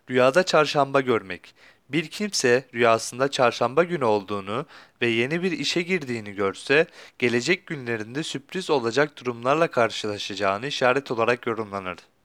Rüyada çarşamba görmek. Bir kimse rüyasında çarşamba günü olduğunu ve yeni bir işe girdiğini görse, gelecek günlerinde sürpriz olacak durumlarla karşılaşacağını işaret olarak yorumlanır.